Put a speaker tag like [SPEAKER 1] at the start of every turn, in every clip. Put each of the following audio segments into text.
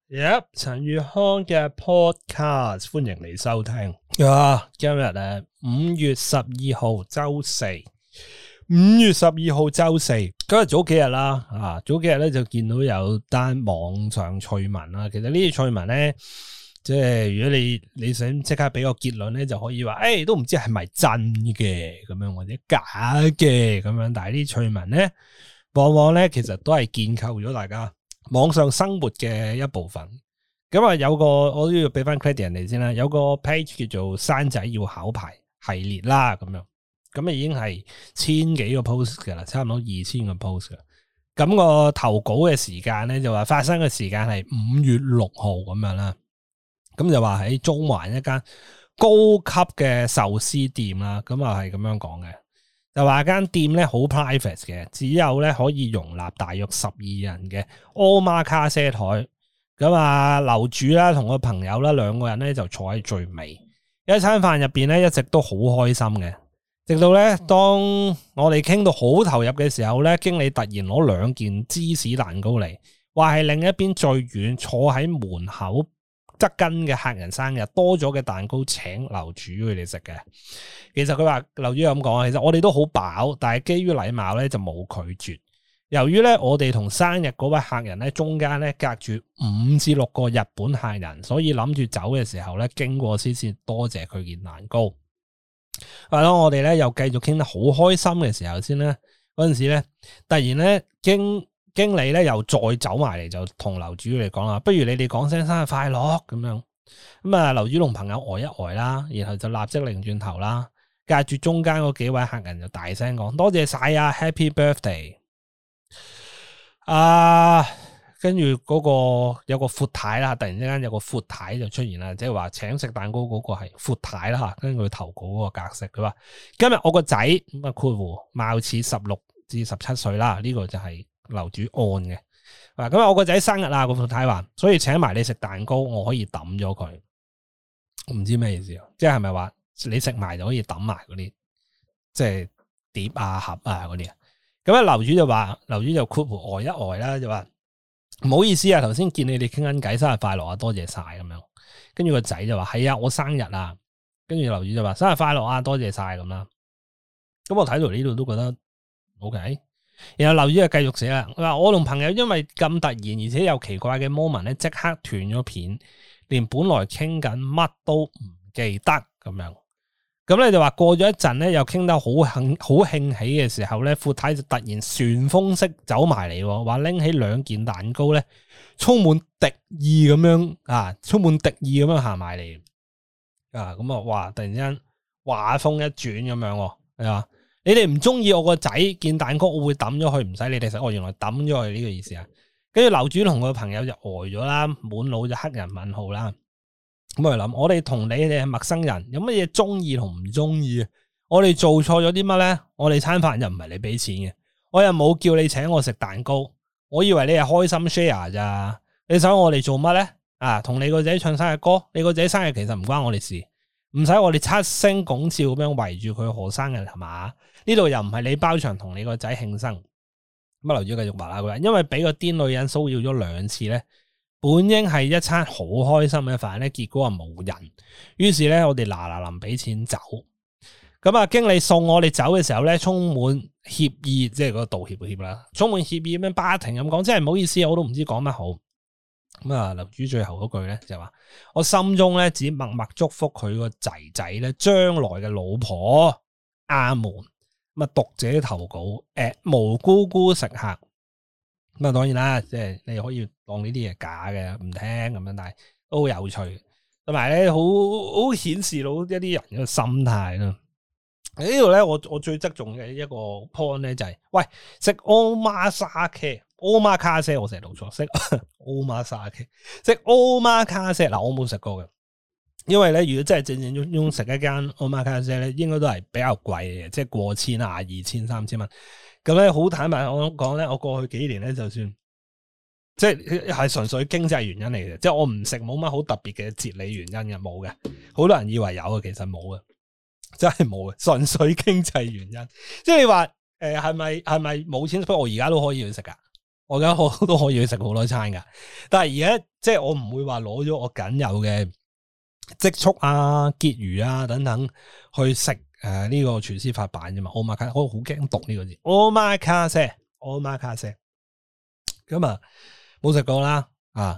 [SPEAKER 1] 陳宇康嘅 podcast，歡迎你收聽。今日咧5月12號周四，5月12號周四，今日早幾日啦，早幾日咧就見到有單網上趣聞啦。其實呢啲趣聞咧，即係如果你想即刻俾個結論咧，就可以話，都唔知係咪真嘅咁樣，或者假嘅咁樣。但係呢啲趣聞咧，往往咧其實都係建構咗大家網上生活嘅一部分。咁啊，有個我都要俾翻 credit 人哋先啦，有個 page 叫做生仔要考牌系列啦，咁啊已經係千幾個 post 噶啦，差唔多2000個 post 噶。咁個投稿嘅時間咧就話發生嘅時間係5月6號咁樣啦。咁就話喺中環一間高級嘅壽司店啦，咁啊係咁樣講嘅。就話間店咧好 private 嘅，只有咧可以容納大約12人嘅 omakase 台。咁啊，樓主啦同個朋友啦兩個人咧就坐喺最尾。一餐飯入邊咧一直都好開心嘅，直到咧當我哋傾到好投入嘅時候咧，經理突然攞2件芝士蛋糕嚟，話係另一邊最遠坐喺門口側跟嘅客人生日多咗嘅蛋糕請樓主佢哋食嘅。其實佢話樓主咁講，其實我哋都好飽，但係基於禮貌咧就冇拒絕。由於咧我哋同生日嗰位客人咧中間咧隔住5至6個日本客人，所以諗住走嘅時候咧經過先多謝佢件蛋糕。係咯，我哋咧又繼續傾得好開心嘅時候先咧，嗰陣時咧突然咧經理咧又再走埋嚟，就同樓主嚟講啦，不如你哋講聲生日快樂咁樣。咁啊，樓主同朋友呆一呆啦，然後就立即擰轉頭啦，隔住中間嗰幾位客人就大聲講多謝晒啊 ，Happy Birthday！ 跟住嗰個有個闊太啦，突然之間有個闊太就出現啦，即係話請食蛋糕嗰個係闊太啦吓，根據佢投稿嗰個格式，佢話今日我個仔咁啊括弧貌似16至17歲啦，呢個就係樓主按嘅。咁啊我個仔生日啦，個闊太話，所以請埋你食蛋糕，我可以抌咗佢。唔知咩意思啊？即係咪話你食埋就可以抌埋嗰啲，即係碟啊盒啊嗰啲啊？咁啊樓主就話，樓主就括弧呆一呆啦，就話唔好意思啊，頭先見你哋傾緊偈，生日快樂啊，多謝晒咁樣。跟住個仔就話係啊，我生日啊。跟住樓主就話生日快樂啊，多謝晒咁啦。咁我睇到呢度都覺得 OK。然後樓主就繼續寫啦，佢話我同朋友因為咁突然而且有奇怪嘅 moment 咧，即刻斷咗片，連本來傾緊乜都唔記得咁樣。咁咧就話過咗一陣咧，又傾得好興起嘅時候咧，闊太就突然旋風式走埋嚟，話拎起2件蛋糕咧，充滿敵意咁樣行埋嚟。咁啊，哇！突然之間話風一轉咁樣，係嘛？你哋唔中意我個仔件蛋糕，我會抌咗佢，唔使你哋食。我原來抌咗佢呢個意思啊！跟住樓主同個朋友就呆咗啦，滿腦就黑人問號啦。咁我諗，我哋同你哋係陌生人，有乜嘢中意同唔中意？我哋做錯咗啲乜咧？我哋餐飯又唔係你俾錢嘅，我又冇叫你請我食蛋糕，我以為你係開心 share 咋？你想我哋做乜咧？同你個仔唱生日歌，你個仔生日其實唔關我哋事，唔使我哋7聲拱照咁樣圍住佢賀生日係嘛？呢度又唔係你包場同你個仔慶生。咁樓主繼續話啦，佢話因為俾個癲女人騷擾咗2次咧。本應係一餐好開心嘅飯咧，結果啊冇人。於是咧，我哋嗱臨俾錢走。咁啊，經理送我哋走嘅時候咧，充滿歉意，即係嗰個道歉嘅歉啦，充滿歉意咁樣不停咁講，真係唔好意思，我都唔知講乜好。咁啊，樓主最後嗰句咧就話，我心中咧只默默祝福佢個仔仔咧將來嘅老婆阿門。咁啊，讀者投稿無姑姑食客。咁啊，當然啦，即係你可以當呢啲嘢假嘅，唔聽咁樣，但係都好有趣，同埋咧好顯示到一啲人嘅心態啦。呢度咧，我最側重嘅一個 point 咧就係，喂，食 omakase，我成日讀錯，食 omakase，食 omakase，嗱我冇食過嘅，因為咧如果真係正正食一間 omakase 咧，應該都係比較貴嘅，即係過千啊，2000、3000蚊。咁咧好坦白我講咧，我過去幾年咧就算即係純粹經濟原因嚟嘅，即係我唔食冇乜好特別嘅哲理原因嘅，冇嘅。好多人以為有嘅，其實冇嘅，真係冇嘅，純粹經濟原因。即係你話係咪冇錢？不過我而家都可以去食噶， 我而家都可以去食好多餐噶。但係而家即係我唔會話攞咗我僅有嘅積蓄啊、結餘啊等等去食呢個廚師發辦啫嘛。Omakase，我好驚讀呢個字。Omakase，咁啊冇食過啦。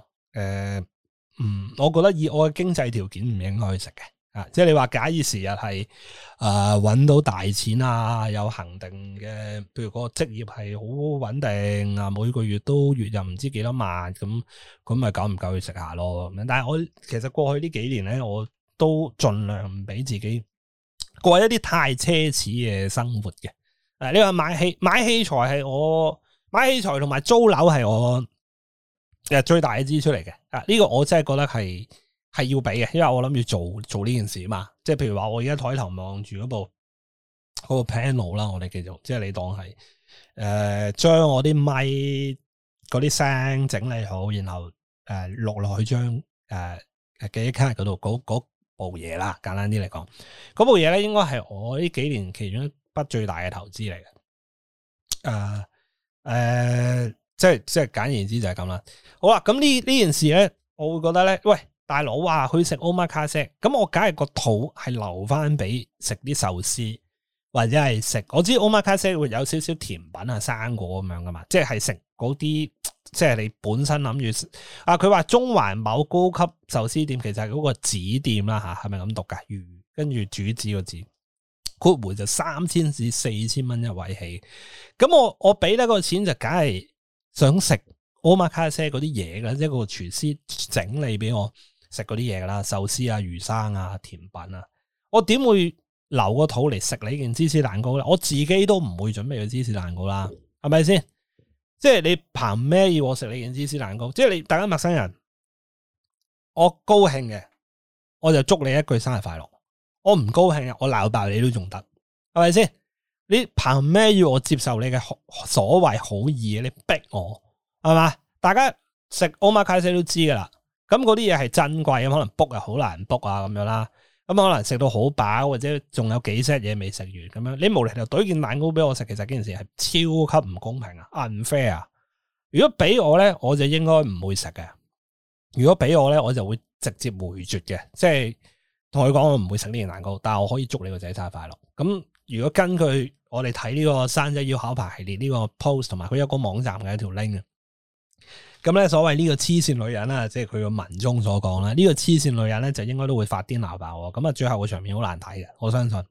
[SPEAKER 1] 我覺得以我嘅經濟條件唔應該去食嘅。即係你話假以時日係搵到大錢啊，有恒定嘅，譬如個職業係好穩定啊，每個月都月入唔知幾多萬咁咪夠唔夠去食下咯？但係我其實過去呢幾年咧，我都盡量唔俾自己過一啲太奢侈嘅生活嘅。你話買器材係我買器材同埋租樓係我最大嘅支出嚟嘅。呢個我真係覺得係要俾嘅，因為我諗住做呢件事啊嘛，即係譬如話我而家台頭望住嗰部 panel 啦，我哋叫做，即係你當係將我啲咪嗰啲聲整理好，然後錄落去張記憶卡嗰度嗰部嘢啦，簡單啲嚟講，嗰部嘢咧應該係我呢幾年其中一筆最大嘅投資嚟嘅，即係簡言之就係咁啦。好啦，咁呢件事咧，我會覺得咧，喂。大佬話去食 Omakase，咁我梗係個肚係留翻俾食啲壽司，或者係食我知 Omakase 會有少少甜品啊、生果咁樣噶嘛，即係食嗰啲，即係你本身諗住佢話中環某高級壽司店其實係嗰個子店啦吓，係咪咁讀噶？跟住主子個字，括弧就3000至4000蚊一位起，咁我俾得個錢就梗係想食 Omakase 嗰啲嘢噶，即係個廚師整理俾我。食嗰啲嘢啦，壽司啊、魚生啊、甜品啊，我點會留個肚嚟食你件芝士蛋糕咧？我自己都唔會準備個芝士蛋糕啦，係咪先？即係你憑咩要我食你件芝士蛋糕？即係你大家陌生人，我高興嘅，我就祝你一句生日快樂；我唔高興嘅，我鬧爆你都仲得，係咪先？你憑咩要我接受你嘅所謂好意？你逼我係嘛？大家食 Omakase 都知噶啦。咁嗰啲嘢係珍貴，可能 book 又好難 book 啊咁樣啦。咁可能食到好飽，或者仲有幾 set 嘢未食完咁樣。你無厘頭懟件蛋糕俾我食，其實件事係超級唔公平啊 ，unfair 啊！如果俾我咧，我就應該唔會食嘅。如果俾我咧，我就會直接回絕嘅，即係同佢講我唔會食呢件蛋糕，但係我可以祝你個仔生日快樂。咁如果根據我哋睇呢個生仔要考牌系列呢個 post 同埋佢有個網站嘅一條 link。咁咧，所謂呢個黐線女人啦，即係佢個文中所講啦，呢個黐線女人咧就應該都會發癲鬧爆。咁啊，最後個場面好難睇嘅，我相信。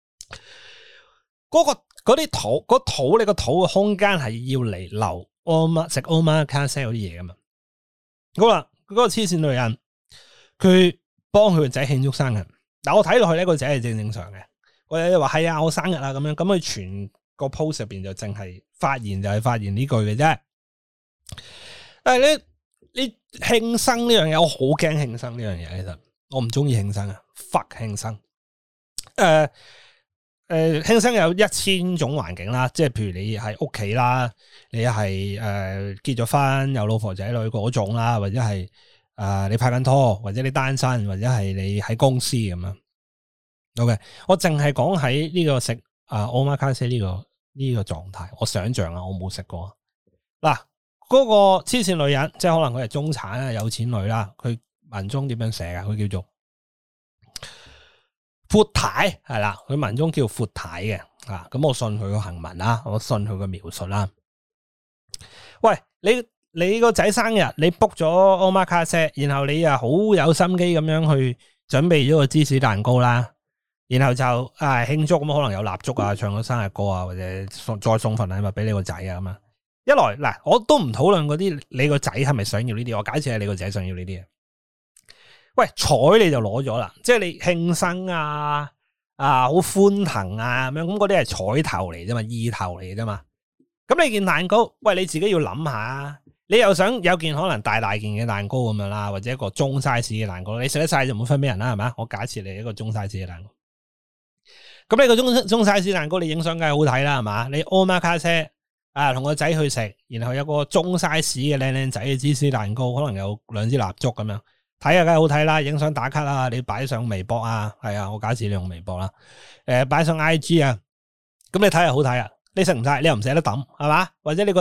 [SPEAKER 1] 嗰啲肚，你個肚嘅空間係要嚟留食 Omakase 嗰啲嘢噶嘛？好啦，嗰個黐線女人，佢幫佢個仔慶祝生日。但我睇落去呢個仔係正常嘅。個仔就話係啊，我生日啊咁樣。咁佢全個 post 入邊就淨係發言就係發言呢句嘅啫。但係你慶生呢樣嘢，我好驚慶生呢樣嘢。其實我唔中意慶生啊 ，fuck 慶生。慶生有1000種環境啦，即係譬如你係屋企啦，你係結咗婚有老婆仔女嗰種啦，或者係你拍緊拖，或者你單身，或者係你喺公司咁樣。OK，我淨係講喺呢個食Omakase 呢個狀態，我想象啊，我冇食過嗱。嗰個黐線女人，即係可能佢係中產啊、有錢女啦。佢文中點樣寫啊？佢叫做闊太，係啦。佢文中叫闊太嘅咁我信佢個行文啦，我信佢個描述啦。喂，你個仔生日，你 book 咗 Omakase，然後你又好有心機咁樣去準備咗個芝士蛋糕啦，然後就慶祝咁，可能有蠟燭啊、唱個生日歌啊，或者再送份禮物俾你個仔啊咁啊。一來嗱，我都唔討論嗰啲你個仔係咪想要呢啲，我假設係你個仔想要呢啲嘢。喂，彩你就攞咗啦，即係你慶生啊，好歡騰啊咁樣，咁嗰啲係彩頭嚟啫嘛，意頭嚟啫嘛。咁你件蛋糕，喂，你自己要諗下，你又想有件可能大件嘅蛋糕咁樣啦，或者一個中 size 嘅蛋糕，你食得晒就唔會分俾人啦，係咪？我假設你係一個中 size 嘅蛋糕，咁你個中 size 蛋糕你影相梗係好睇啦，係嘛？你 Omakase。同個仔去食，然後有個中 size 嘅靚仔嘅芝士蛋糕，可能有2支蠟燭咁樣，睇下梗係好睇啦，影相打卡啦，你擺上微博啊，係啊，我假設你用微博啦，擺上 IG 啊，咁你睇下好睇啊，你食唔晒，你又唔捨得抌，係嘛？或者你覺得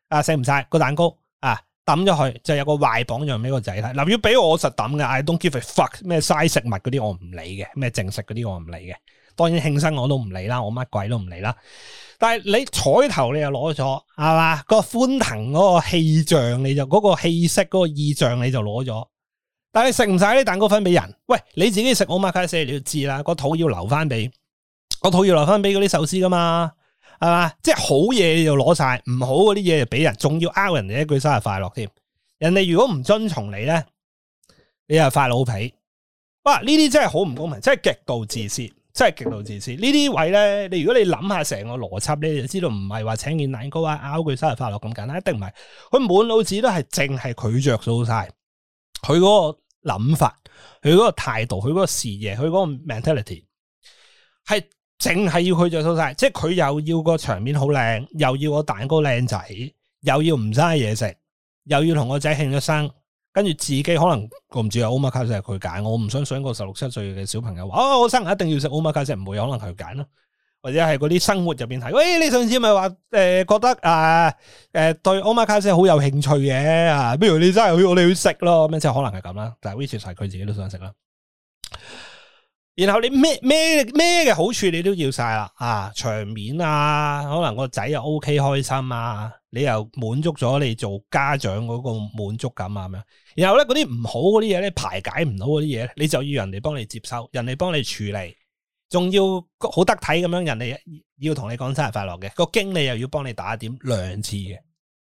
[SPEAKER 1] 食唔晒個蛋糕啊，抌咗去就有個壞榜樣俾個仔睇。嗱，如果俾我實抌嘅 I don't give a fuck 咩嘥食物嗰啲我唔理嘅，咩淨食嗰啲我唔理嘅。當然慶生我都唔理啦，我乜鬼都唔理啦。但係你彩頭你又攞咗係嘛？個歡騰嗰個氣象你就嗰個氣息嗰個意象你就攞咗。但係你食唔晒啲蛋糕分俾人，喂，你自己食omakase你要知啦，個肚要留翻俾嗰啲壽司噶嘛，係嘛？即係好嘢你就攞晒，唔好嗰啲嘢就俾人，仲要拗人哋一句生日快樂添。人哋如果唔遵從你咧，你又發老脾。哇！呢啲真係好唔公平，真係極度自私，真係極度自私。呢啲位咧，你如果你諗下成個邏輯咧，你就知道唔係話請件蛋糕啊，拗句生日快樂咁簡單，一定唔係。佢滿腦子都係淨係佢着數晒。佢嗰個諗法，佢嗰個態度，佢嗰個視野，佢嗰個 mentality 係淨係要佢着數晒，即係佢又要個場面好靚，又要個蛋糕靚仔，又要唔嘥嘢食，又要同個仔慶咗生，跟住自己可能我唔知啊，omakase係佢揀，我唔相信個16、17歲嘅小朋友話我生日一定要食omakase，唔會，可能佢揀咯。或者係嗰啲生活入邊睇，喂，你上次咪話覺得對 omakase 好有興趣嘅啊，不如你真係去我哋去食咯，咁即係可能係咁啦。但係 which 係佢自己都想食啦。然後你咩嘅好處你都要晒啦，啊，場面啊，可能個仔又 OK 開心啊，你又滿足咗你做家長嗰個滿足感啊咁樣。然後咧嗰啲唔好嗰啲嘢咧，排解唔到嗰啲嘢咧，你就要人哋幫你接收，人哋幫你處理。仲要好得體咁樣，人哋要同你講生日快樂嘅，個經理又要幫你打點2次嘅，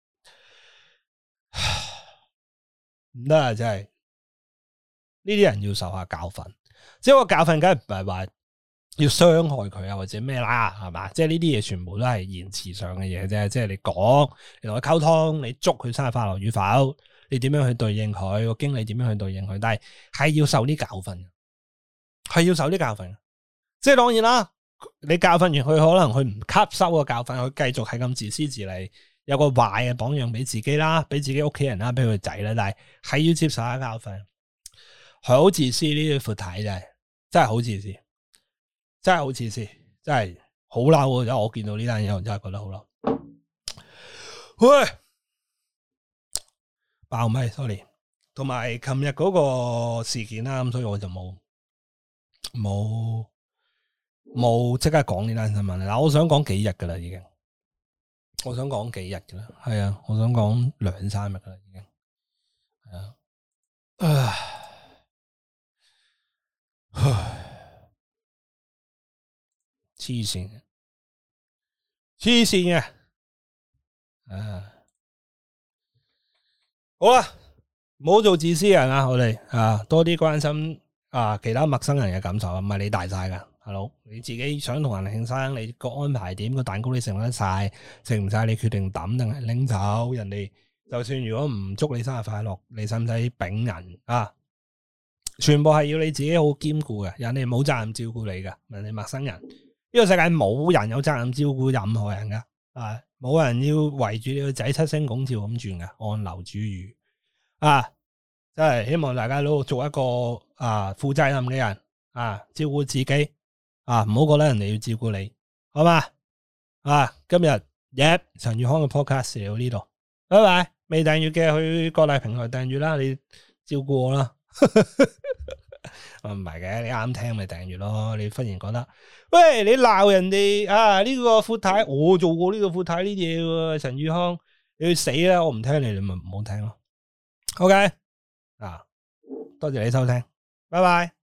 [SPEAKER 1] 唔得啊！真係呢啲人要受下教訓，即係個教訓，梗係唔係話要傷害佢啊，或者咩啦，係嘛？即係呢啲嘢全部都係言辭上嘅嘢啫，即係你講，你同佢溝通，你祝佢生日快樂與否，你點樣去對應佢，個經理點樣去對應佢，但係要受啲教訓，係要受啲教訓。即係當然啦，你教訓完佢，可能佢唔吸收個教訓，佢繼續係咁自私自利，有個壞嘅榜樣俾自己啦，俾自己屋企人啦，俾佢仔啦，但係要接受下教訓，好自私呢啲闊太真係好自私，真係好自私，真係好嬲。因為我見到呢單嘢，我真係覺得好嬲。喂，爆咪 sorry， 同埋琴日嗰個事件啦，咁所以我就冇即刻講呢單新聞啦。我想講幾日噶啦，已經。我想講幾日噶啦，係啊，我想講2、3日噶啦，已經。係啊，黐線嘅，好啦，唔好做自私人啊！我哋多啲關心其他陌生人嘅感受，唔係你大晒噶。大佬，你自己想同人慶生，你個安排點？個蛋糕你食得晒，食唔晒你決定抌定係拎走？人哋就算如果唔祝你生日快樂，你使唔使丙人啊？全部係要你自己好兼顧嘅，人哋冇責任照顧你噶，人哋陌生人，呢個世界冇人有責任照顧任何人噶，冇人要圍住你個仔七星拱照咁轉噶，按流煮雨真係希望大家都做一個負責任嘅人照顧自己。唔好覺得人哋要照顧你，好嘛？今日陳宇康嘅 podcast 嚟到呢度，拜拜。未訂閱嘅去各大平台訂閱啦，你照顧我啦。唔係嘅，你啱聽咪訂閱咯。你忽然覺得，喂，你鬧人哋呢個闊太，我做過呢個闊太呢啲嘢喎，陳宇康，你去死啦！我唔聽你，你咪唔好聽咯。OK，多謝你收聽，拜拜。